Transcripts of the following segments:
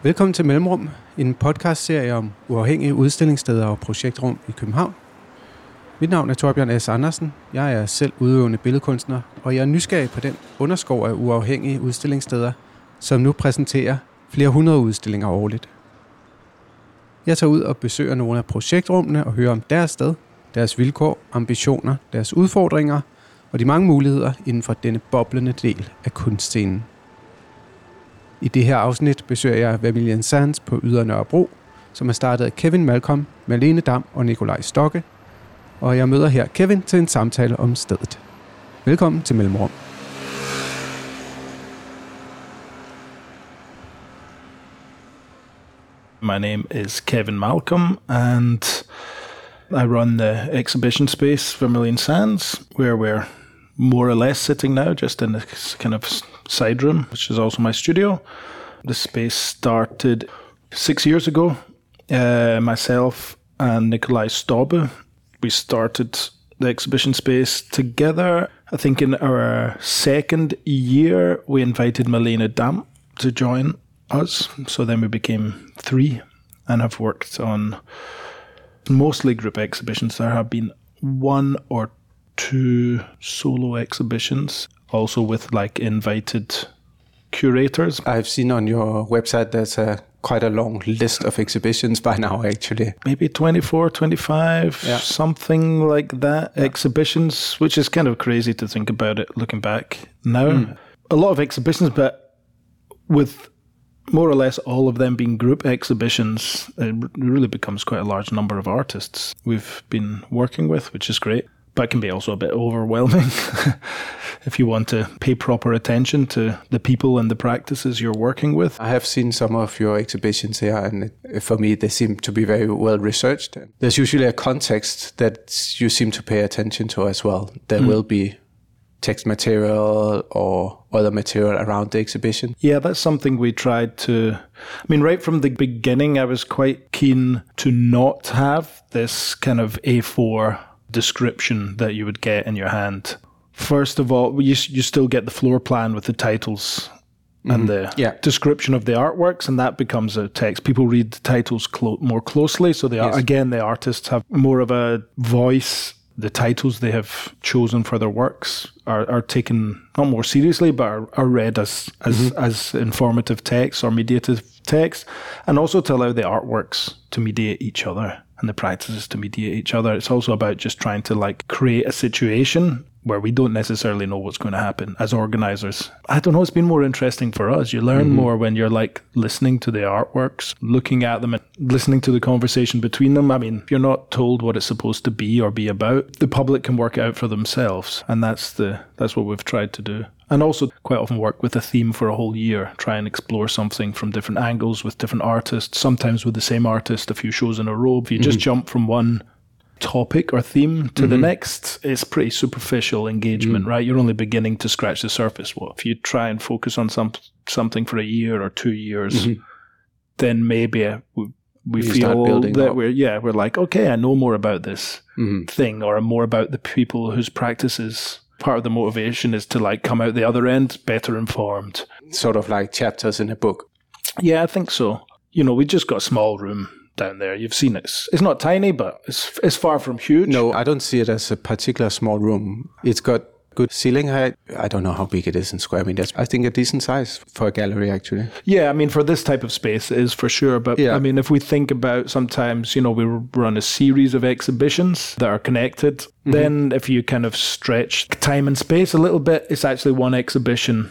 Velkommen til Mellemrum, en podcastserie om uafhængige udstillingssteder og projektrum i København. Mit navn er Torbjørn S. Andersen. Jeg er selv udøvende billedkunstner, og jeg er nysgerrig på den underskov af uafhængige udstillingssteder, som nu præsenterer flere hundrede udstillinger årligt. Jeg tager ud og besøger nogle af projektrummene og hører om deres sted, deres vilkår, ambitioner, deres udfordringer og de mange muligheder inden for denne boblende del af kunstscenen. I det her afsnit besøger jeg Vermilion Sands på Ydre Nørrebro, som er startet af Kevin Malcolm, Malene Dam og Nikolaj Stokke. Og jeg møder her Kevin til en samtale om stedet. Velkommen til Mellemrum. My name is Kevin Malcolm, and I run the exhibition space Vermilion Sands, where we're more or less sitting now, just in this kind of side room, which is also my studio. The space started 6 years ago. Myself and Nikolaj Stokke, we started the exhibition space together. I think in our second year, we invited Malene Dam to join us. So then we became 3 and have worked on mostly group exhibitions. There have been 1 or 2 solo exhibitions, also with like invited curators. I've seen on your website there's quite a long list of exhibitions by now, actually. Maybe 24, 25, something like that, exhibitions, which is kind of crazy to think about it looking back now. A lot of exhibitions, but with more or less all of them being group exhibitions, it really becomes quite a large number of artists we've been working with, which is great. But it can be also a bit overwhelming if you want to pay proper attention to the people and the practices you're working with. I have seen some of your exhibitions here, and for me they seem to be very well researched. There's usually a context that you seem to pay attention to as well. There will be text material or other material around the exhibition. Yeah, that's something we tried to... I mean, right from the beginning, I was quite keen to not have this kind of A4 description that you would get in your hand. First of all, you still get the floor plan with the titles and the description of the artworks, and that becomes a text. People read the titles more closely, so the artists have more of a voice. The titles they have chosen for their works are taken not more seriously, but are read as informative text or mediative text, and also to allow the artworks to mediate each other and the practices to mediate each other. It's also about just trying to like create a situation where we don't necessarily know what's going to happen as organizers. I don't know, it's been more interesting for us. You learn more when you're like listening to the artworks, looking at them and listening to the conversation between them. I mean, if you're not told what it's supposed to be or be about, the public can work it out for themselves. And that's what we've tried to do. And also quite often work with a theme for a whole year, try and explore something from different angles with different artists, sometimes with the same artist a few shows in a row. If you just jump from one topic or theme to the next, it's pretty superficial engagement, right? You're only beginning to scratch the surface. Well, if you try and focus on something for a year or 2 years, then maybe we feel that we're like, okay, I know more about this thing, or more about the people whose practices. Part of the motivation is to like come out the other end better informed. Sort of like chapters in a book. Yeah, I think so. You know, we just got a small room down there. You've seen it. It's not tiny, but it's far from huge. No, I don't see it as a particular small room. It's got good ceiling height. I don't know how big it is in square meters. I think a decent size for a gallery, actually. Yeah, I mean, for this type of space, it is for sure. But I mean, if we think about sometimes, you know, we run a series of exhibitions that are connected. Then if you kind of stretch time and space a little bit, it's actually one exhibition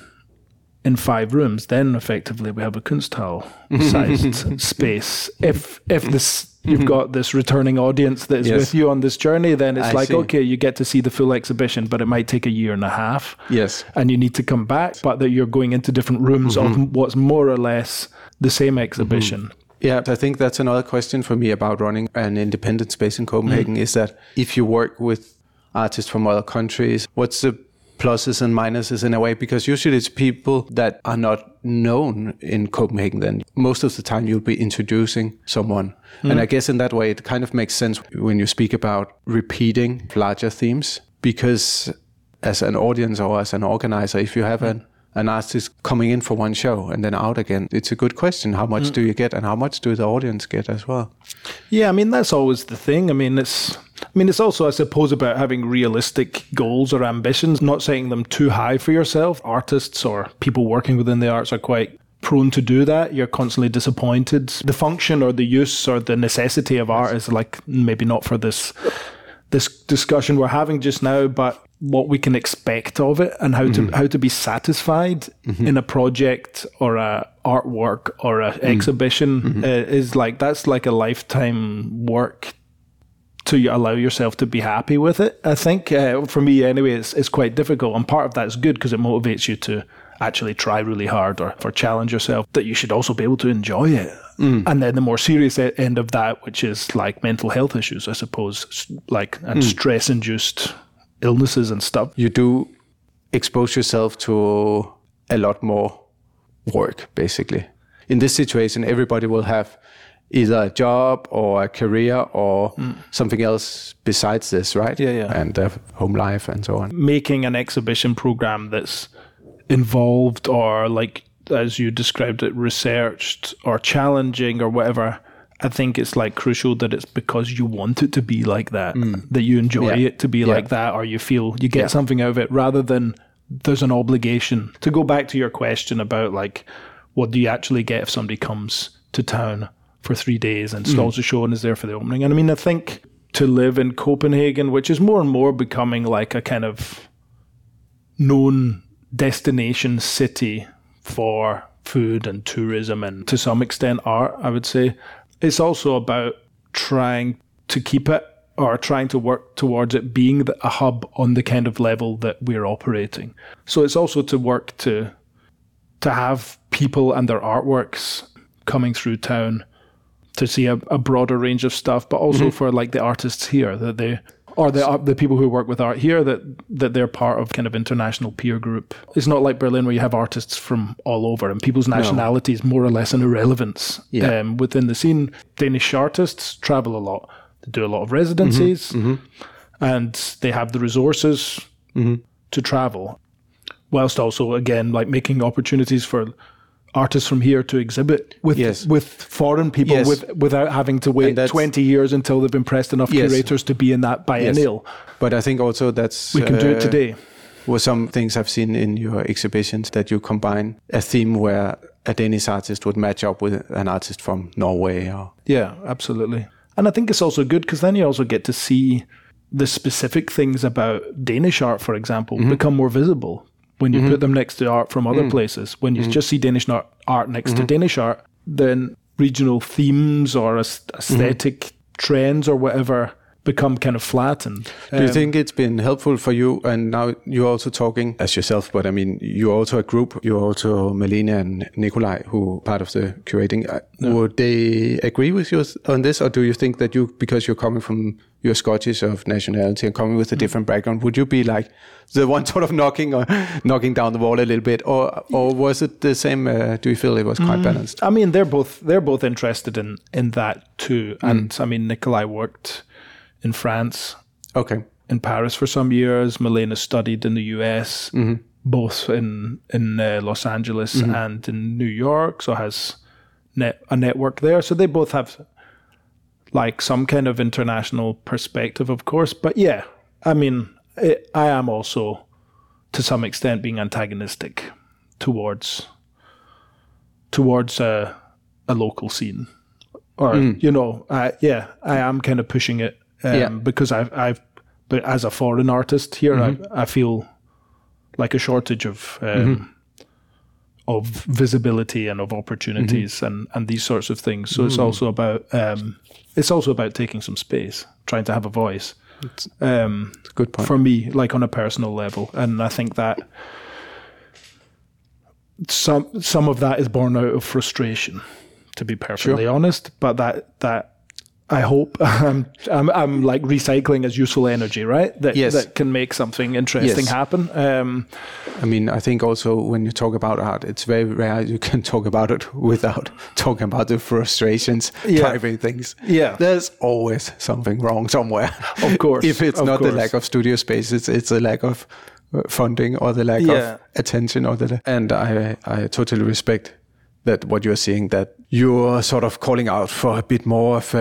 in 5 rooms. Then effectively we have a Kunsthal-sized space. If this you've got this returning audience that is with you on this journey, then it's okay, you get to see the full exhibition, but it might take a year and a half. Yes. And you need to come back, but that you're going into different rooms of what's more or less the same exhibition. Yeah, I think that's another question for me about running an independent space in Copenhagen, is that if you work with artists from other countries, what's the pluses and minuses in a way? Because usually it's people that are not known in Copenhagen then. Most of the time you'll be introducing someone. And I guess in that way it kind of makes sense when you speak about repeating larger themes, because as an audience or as an organizer, if you have an artist coming in for one show and then out again? It's a good question. How much do you get, and how much do the audience get as well? Yeah, I mean, that's always the thing. I mean, it's also, I suppose, about having realistic goals or ambitions, not setting them too high for yourself. Artists or people working within the arts are quite prone to do that. You're constantly disappointed. The function or the use or the necessity of art is like maybe not for this discussion we're having just now, but what we can expect of it and how to be satisfied in a project or a artwork or an exhibition is like, that's like a lifetime work to allow yourself to be happy with it. I think for me anyway, it's quite difficult, and part of that is good because it motivates you to actually try really hard or challenge yourself, that you should also be able to enjoy it. And then the more serious end of that, which is like mental health issues, I suppose, like and stress-induced illnesses and stuff. You do expose yourself to a lot more work, basically. In this situation, everybody will have either a job or a career or something else besides this, right? Yeah. And home life and so on. Making an exhibition program that's involved or, like, as you described it, researched or challenging or whatever, I think it's like crucial that it's because you want it to be like that, that you enjoy it to be like that, or you feel you get something out of it, rather than there's an obligation. To go back to your question about like, what do you actually get if somebody comes to town for 3 days and stalls a show and is there for the opening? And I mean, I think to live in Copenhagen, which is more and more becoming like a kind of known destination city for food and tourism and to some extent art, I would say, it's also about trying to keep it or trying to work towards it being a hub on the kind of level that we're operating. So it's also to work to have people and their artworks coming through town to see a broader range of stuff, but also for like the artists here, that they or the people who work with art here, that they're part of kind of international peer group. It's not like Berlin where you have artists from all over and people's nationality is more or less an irrelevance within the scene. Danish artists travel a lot. They do a lot of residencies and they have the resources to travel, whilst also, again, like making opportunities for artists from here to exhibit with foreign people without having to wait 20 years until they've impressed enough curators to be in that biennial. But I think also we can do it today. Well, some things I've seen in your exhibitions that you combine a theme where a Danish artist would match up with an artist from Norway. Yeah, absolutely. And I think it's also good because then you also get to see the specific things about Danish art, for example, become more visible. When you put them next to art from other places, when you just see Danish art next to Danish art, then regional themes or aesthetic trends or whatever become kind of flattened. Do you think it's been helpful for you? And now you're also talking as yourself, but I mean, you're also a group. You're also Malene and Nikolaj, who are part of the curating. Would they agree with you on this? Or do you think that because you're coming from, you're Scottish of nationality and coming with a different background, would you be like the one sort of knocking down the wall a little bit? Or was it the same? Do you feel it was quite balanced? I mean, they're both interested in that too. And I mean, Nikolaj worked in France, in Paris for some years. Malene studied in the US, both in Los Angeles and in New York, so has a network there. So they both have like some kind of international perspective, of course. But yeah, I mean, I am also to some extent being antagonistic towards a local scene, or I am kind of pushing it. Because but as a foreign artist here, I feel like a shortage of visibility and of opportunities and these sorts of things. So it's also about taking some space, trying to have a voice. It's a good point for me, like on a personal level, and I think that some of that is born out of frustration, to be perfectly honest. But that. I hope I'm like recycling as useful energy, right? That can make something interesting happen. I mean, I think also when you talk about art, it's very rare you can talk about it without talking about the frustrations, private things. Yeah, there's always something wrong somewhere. Of course, if it's not the lack of studio space, it's a lack of funding or the lack of attention and I totally respect that what you're saying, that you're sort of calling out for a bit more of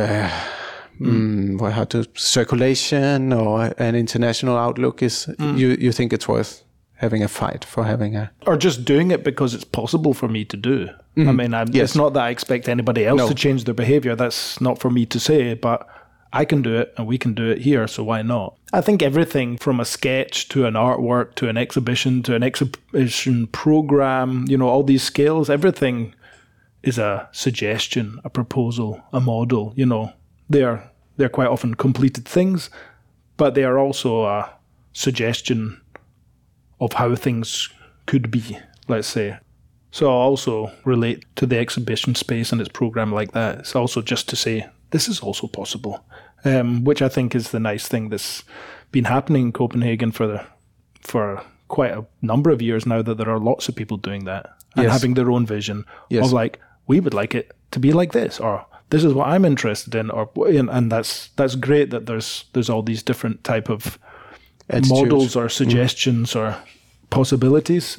circulation or an international outlook. Is you think it's worth having a fight for having a... Or just doing it because it's possible for me to do. I mean, it's not that I expect anybody else to change their behavior. That's not for me to say, but I can do it and we can do it here, so why not? I think everything from a sketch to an artwork to an exhibition program, all these scales, everything is a suggestion, a proposal, a model. They're quite often completed things, but they are also a suggestion of how things could be, let's say. So I also relate to the exhibition space and its program like that. It's also just to say, this is also possible, which I think is the nice thing that's been happening in Copenhagen for quite a number of years now, that there are lots of people doing that and having their own vision of like, we would like it to be like this, or this is what I'm interested in, and that's great that there's all these different type of models or suggestions or possibilities.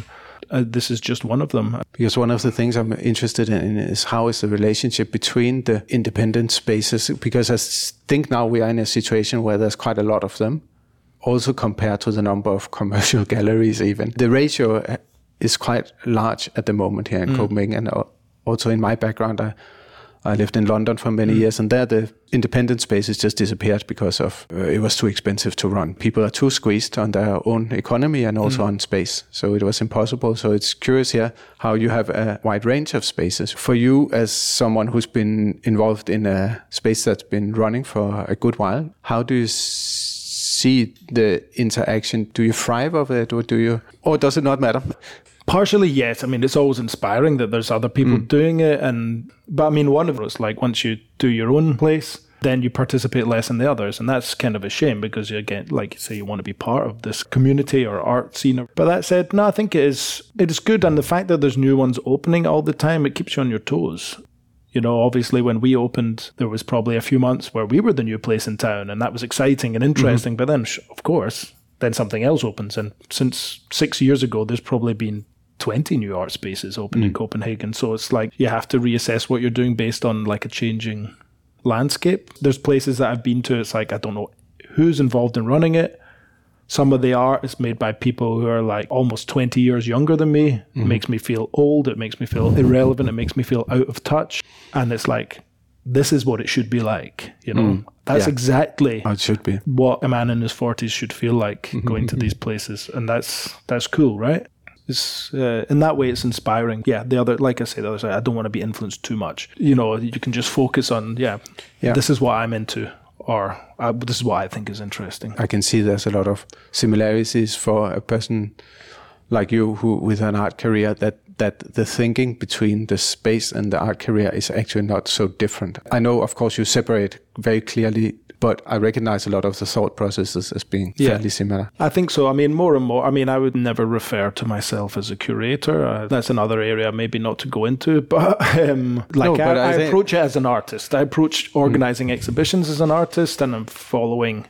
This is just one of them. Because one of the things I'm interested in is how is the relationship between the independent spaces, because I think now we are in a situation where there's quite a lot of them, also compared to the number of commercial galleries even. The ratio is quite large at the moment here in Copenhagen, and also in my background, I lived in London for many years, and there the independent spaces just disappeared because of it was too expensive to run. People are too squeezed on their own economy and also on space, so it was impossible. So it's curious here how you have a wide range of spaces. For you, as someone who's been involved in a space that's been running for a good while, how do you see the interaction? Do you thrive of it, or does it not matter? Partially, yes. I mean, it's always inspiring that there's other people doing it. But I mean, one of those, like, once you do your own place, then you participate less in the others. And that's kind of a shame, because you get, like you say, you want to be part of this community or art scene. But that said, no, I think it is good. And the fact that there's new ones opening all the time, it keeps you on your toes. Obviously when we opened, there was probably a few months where we were the new place in town, and that was exciting and interesting. But then, of course, then something else opens. And since 6 years ago, there's probably been 20 new art spaces open in Copenhagen. So it's like you have to reassess what you're doing based on like a changing landscape. There's places that I've been to, it's like, I don't know who's involved in running it. Some of the art is made by people who are like almost 20 years younger than me. It makes me feel old. It makes me feel irrelevant. It makes me feel out of touch. And it's like, this is what it should be like, That's exactly how it should be. What a man in his 40s should feel like going to these places. And that's cool, right? It's, in that way, it's inspiring. Yeah, the other side, I don't want to be influenced too much. You can just focus on, this is what I'm into, or this is what I think is interesting. I can see there's a lot of similarities for a person like you who with an art career, that the thinking between the space and the art career is actually not so different. I know, of course, you separate very clearly, but I recognize a lot of the thought processes as being fairly similar. I think so. I mean, more and more. I mean, I would never refer to myself as a curator. That's another area maybe not to go into. But I approach it as an artist. I approach organizing exhibitions as an artist, and I'm following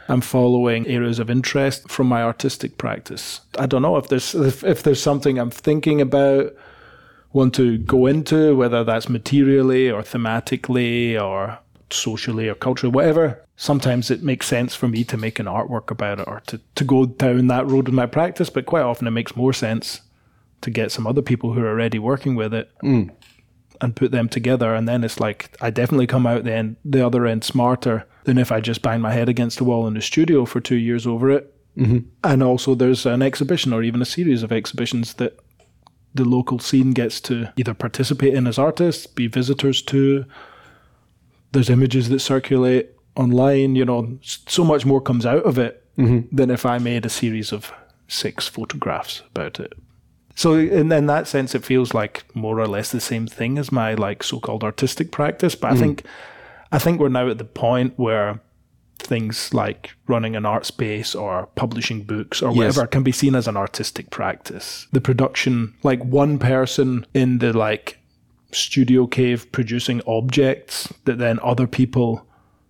areas of interest from my artistic practice. I don't know if there's something I'm thinking about, want to go into, whether that's materially or thematically or socially or culturally, whatever. Sometimes it makes sense for me to make an artwork about it, or to go down that road in my practice, but quite often it makes more sense to get some other people who are already working with it and put them together. And then it's like, I definitely come out the other end smarter than if I just bang my head against the wall in the studio for 2 years over it. And also there's an exhibition or even a series of exhibitions that the local scene gets to either participate in as artists, be visitors to. There's images that circulate online, so much more comes out of it than if I made a series of 6 photographs about it. So in that sense, it feels like more or less the same thing as my like so-called artistic practice. But I think we're now at the point where things like running an art space or publishing books or whatever can be seen as an artistic practice. The production, like one person in the like studio cave producing objects that then other people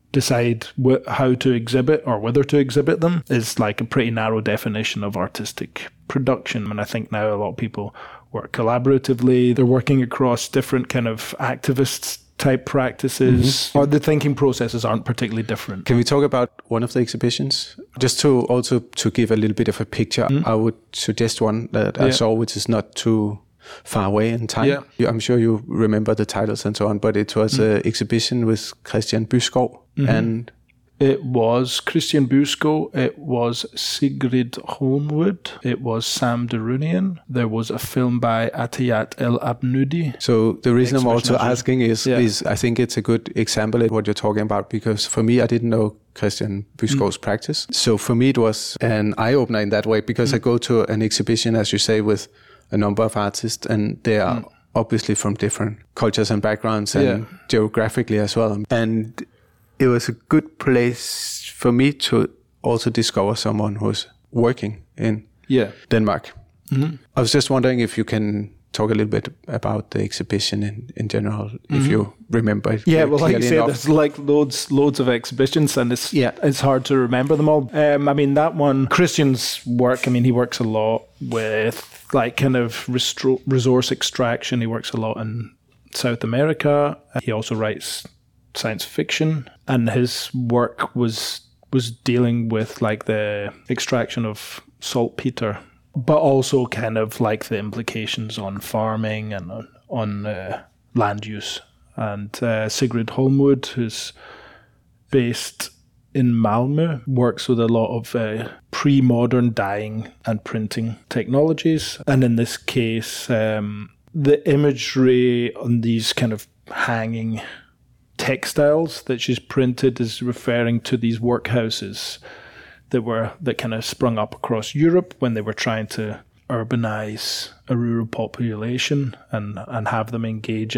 decide how to exhibit or whether to exhibit them is like a pretty narrow definition of artistic production. And I think now a lot of people work collaboratively. They're working across different kind of activist type practices, or the thinking processes aren't particularly different. Can we talk about one of the exhibitions? Just to give a little bit of a picture, I would suggest one that I saw, which is not too far away in time. Yeah. I'm sure you remember the titles and so on, but it was an exhibition with Christian Byskov, and it was Christian Byskov, it was Sigrid Holmwood, it was Sam Darunian, there was a film by Atiyat El Abnoudi. So the reason I'm also asking is I think it's a good example of what you're talking about, because for me, I didn't know Christian Byskov's practice. So for me, it was an eye-opener in that way, because I go to an exhibition, as you say, with a number of artists, and they are obviously from different cultures and backgrounds, and geographically as well. And it was a good place for me to also discover someone who's working in Denmark. I was just wondering if you can talk a little bit about the exhibition in general, if you remember it. Yeah, well, like you say, there's like loads of exhibitions, and it's hard to remember them all. I mean, that one, Christian's work, I mean, he works a lot with like kind of resource extraction. He works a lot in South America. He also writes science fiction, and his work was dealing with like the extraction of saltpeter, but also kind of like the implications on farming and on land use. And Sigrid Holmwood, who's based in Malmö, works with a lot of pre-modern dyeing and printing technologies. And in this case, the imagery on these kind of hanging textiles that she's printed is referring to these workhouses that kind of sprung up across Europe when they were trying to urbanize a rural population and have them engage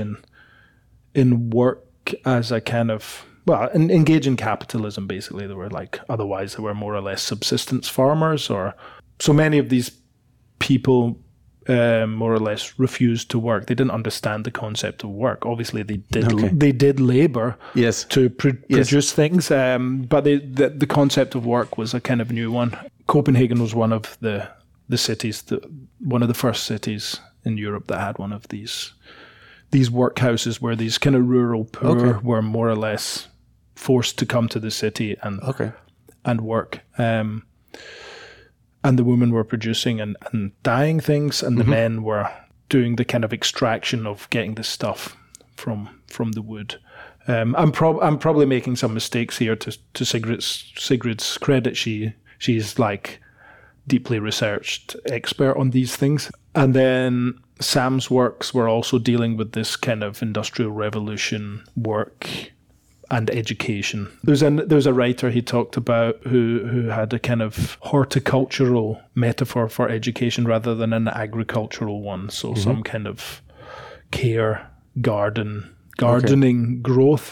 in work as a kind of, well, engage in capitalism, basically. They were like, otherwise they were more or less subsistence farmers, or so many of these people more or less refused to work. They didn't understand the concept of work. Obviously, they did labor to produce things, but the concept of work was a kind of new one. Copenhagen was one of the cities, one of the first cities in Europe that had one of these workhouses where these kind of rural poor were more or less forced to come to the city and work. And the women were producing and dyeing things, and the men were doing the kind of extraction of getting the stuff from the wood. I'm probably making some mistakes here to Sigrid's credit. She's like deeply researched expert on these things. And then Sam's works were also dealing with this kind of industrial revolution work and education. There's a writer he talked about who had a kind of horticultural metaphor for education rather than an agricultural one. So some kind of care, gardening, growth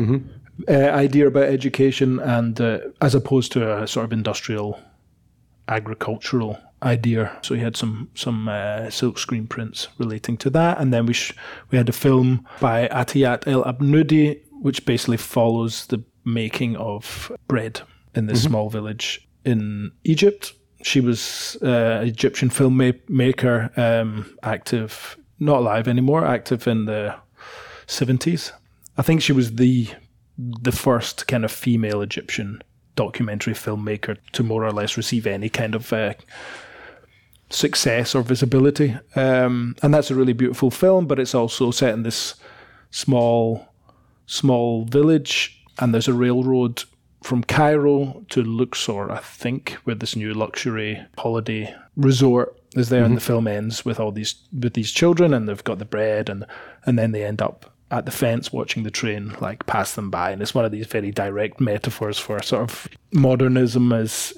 idea about education, and as opposed to a sort of industrial agricultural idea. So he had some silkscreen prints relating to that, and then we had a film by Atiyat El Abnoudi, which basically follows the making of bread in this small village in Egypt. She was an Egyptian filmmaker, active, not alive anymore, active in the 70s. I think she was the first kind of female Egyptian documentary filmmaker to more or less receive any kind of success or visibility. And that's a really beautiful film, but it's also set in this small village, and there's a railroad from Cairo to Luxor, I think, where this new luxury holiday resort is there, and the film ends with these children, and they've got the bread, and then they end up at the fence watching the train like pass them by, and it's one of these very direct metaphors for sort of modernism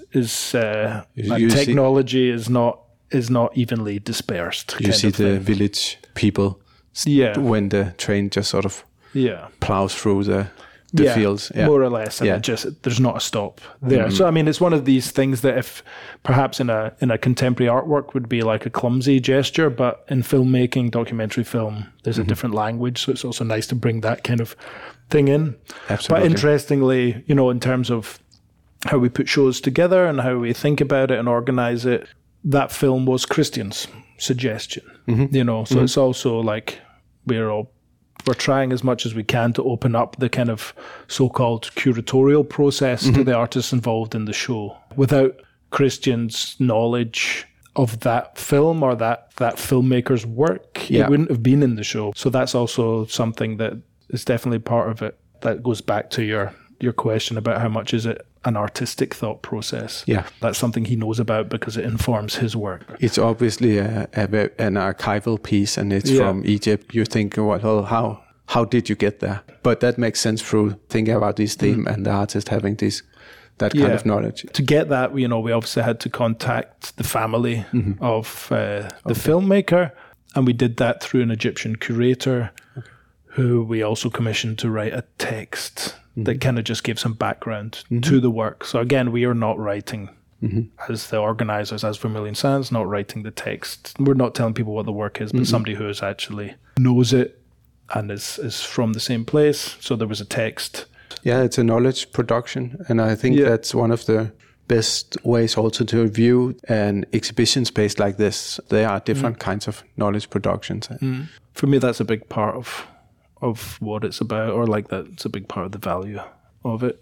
technology is not evenly dispersed. You see the village people when the train just sort of plows through the the fields. Yeah. More or less. And there's not a stop there. So, I mean, it's one of these things that if perhaps in a contemporary artwork would be like a clumsy gesture, but in filmmaking, documentary film, there's a different language. So it's also nice to bring that kind of thing in. Absolutely. But interestingly, in terms of how we put shows together and how we think about it and organize it, that film was Christian's suggestion, so it's also like we're trying as much as we can to open up the kind of so-called curatorial process to the artists involved in the show. Without Christian's knowledge of that film or that filmmaker's work, it wouldn't have been in the show. So that's also something that is definitely part of it. That goes back to your question about how much is it an artistic thought process. Yeah. That's something he knows about because it informs his work. It's obviously an archival piece, and it's from Egypt. You think, well, how did you get there? But that makes sense through thinking about this theme and the artist having that kind of knowledge. To get that, we obviously had to contact the family of the filmmaker, and we did that through an Egyptian curator who we also commissioned to write a text that kind of just gives some background to the work. So again, we are not writing as the organizers, as Vermilion Sands, not writing the text. We're not telling people what the work is, but somebody who is actually knows it and is from the same place. So there was a text. Yeah, it's a knowledge production. And I think that's one of the best ways also to view an exhibition space like this. There are different kinds of knowledge productions. For me, that's a big part of what it's about, or like that's a big part of the value of it.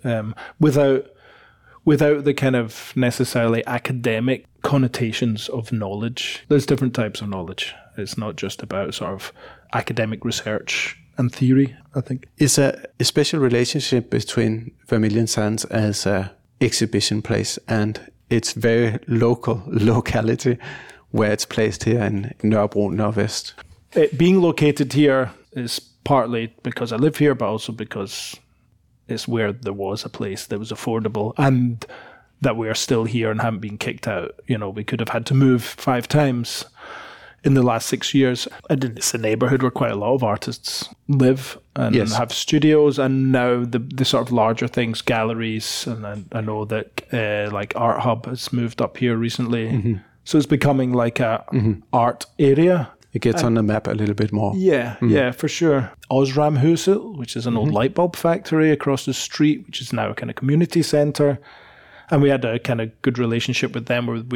Without the kind of necessarily academic connotations of knowledge. There's different types of knowledge. It's not just about sort of academic research and theory, I think. Is a special relationship between Vermilion Sands as a exhibition place and its very locality where it's placed here in Nørrebro, Nordvest? It being located here is partly because I live here, but also because it's where there was a place that was affordable and that we are still here and haven't been kicked out. We could have had to move 5 times in the last 6 years. And it's a neighborhood where quite a lot of artists live and have studios, and now the sort of larger things, galleries, and I know that like Art Hub has moved up here recently. So it's becoming like a art area. It gets on the map a little bit more. Yeah, for sure. Osramhuset, which is an old light bulb factory across the street, which is now a kind of community centre. And we had a kind of good relationship with them where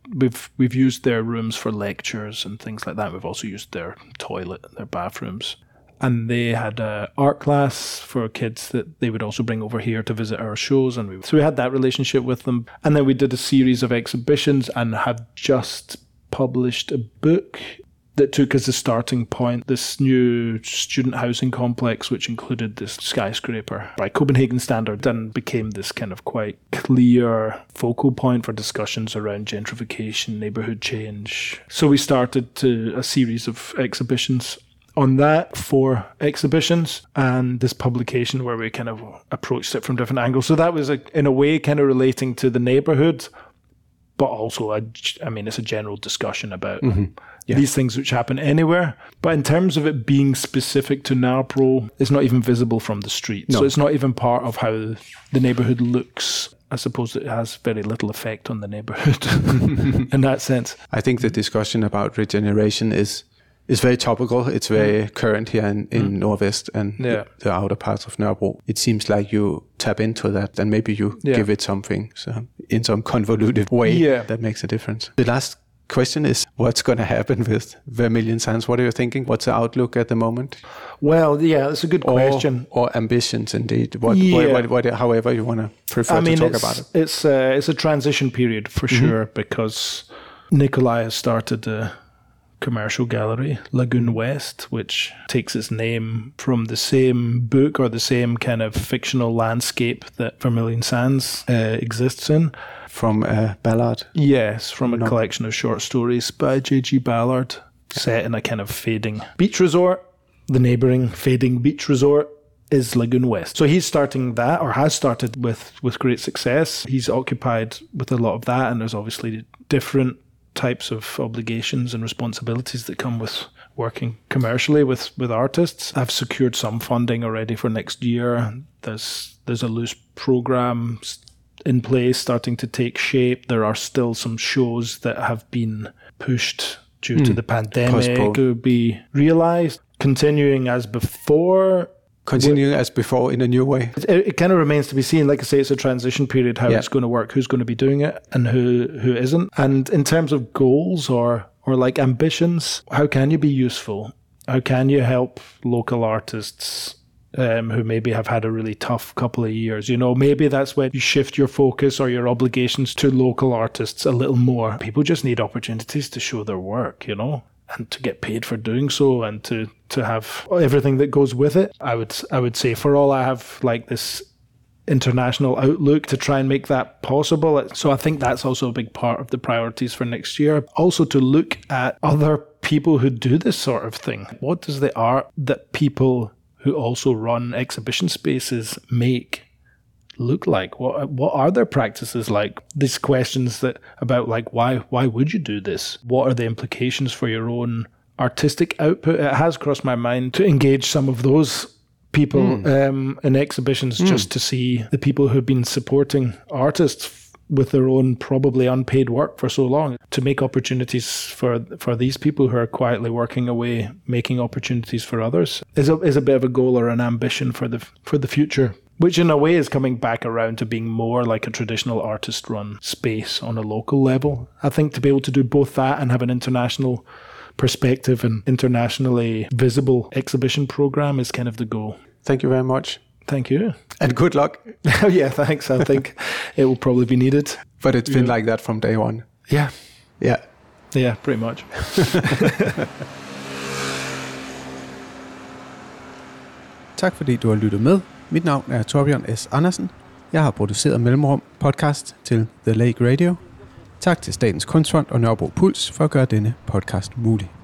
we've used their rooms for lectures and things like that. We've also used their toilet and their bathrooms. And they had an art class for kids that they would also bring over here to visit our shows. So we had that relationship with them. And then we did a series of exhibitions and have just published a book that took as a starting point this new student housing complex, which included this skyscraper by Copenhagen standard, and became this kind of quite clear focal point for discussions around gentrification, neighbourhood change. So we started a series of exhibitions on that, 4 exhibitions, and this publication where we kind of approached it from different angles. So that was, in a way, kind of relating to the neighbourhood, but also, it's a general discussion about these things which happen anywhere. But in terms of it being specific to Nørrebro, it's not even visible from the street. No. So it's not even part of how the neighbourhood looks. I suppose it has very little effect on the neighbourhood in that sense. I think the discussion about regeneration is very topical. It's very current here in Nordvest and the outer parts of Nørrebro. It seems like you tap into that and maybe you give it something in some convoluted way that makes a difference. The last question is, what's going to happen with Vermilion Sands? What are you thinking? What's the outlook at the moment? Well, that's a good question. Or ambitions, indeed. What, however you want to prefer to talk about it. It's a transition period for sure, because Nikolai has started a commercial gallery, Lagoon West, which takes its name from the same book or the same kind of fictional landscape that Vermilion Sands exists in. From Ballard? Yes, from a collection of short stories by J.G. Ballard, set in a kind of fading beach resort. The neighbouring fading beach resort is Lagoon West. So he's starting that, or has started with great success. He's occupied with a lot of that, and there's obviously different types of obligations and responsibilities that come working commercially with artists. I've secured some funding already for next year. There's a loose program in place starting to take shape. There are still some shows that have been pushed due to the pandemic to be realized. Continuing as before in a new way. It kind of remains to be seen. Like I say, it's a transition period, how it's going to work, who's going to be doing it and who isn't. And in terms of goals or like ambitions, how can you be useful? How can you help local artists who maybe have had a really tough couple of years? You know, maybe that's when you shift your focus or your obligations to local artists a little more. People just need opportunities to show their work, you know, and to get paid for doing so, and to have everything that goes with it. I would say for all I have like this international outlook to try and make that possible. So I think that's also a big part of the priorities for next year. Also to look at other people who do this sort of thing. What does the art that people who also run exhibition spaces make look like? What are their practices like? These questions that about like why would you do this? What are the implications for your own artistic output? It has crossed my mind to engage some of those people in exhibitions just to see the people who've been supporting artists with their own probably unpaid work for so long, to make opportunities for these people who are quietly working away, making opportunities for others is a bit of a goal or an ambition for the future, which in a way is coming back around to being more like a traditional artist-run space on a local level. I think to be able to do both that and have an international perspective and internationally visible exhibition program is kind of the goal. Thank you very much. Thank you. And good luck. Oh, yeah, thanks. I think it will probably be needed. But it's been like that from day one. Yeah. Yeah. Yeah, pretty much. Tak fordi du har lyttet med. Mit navn er Torbjørn S. Andersen. Jeg har produceret Mellemrum podcast til The Lake Radio. Tak til Statens Kunstfond og Nørrebro Puls for at gøre denne podcast mulig.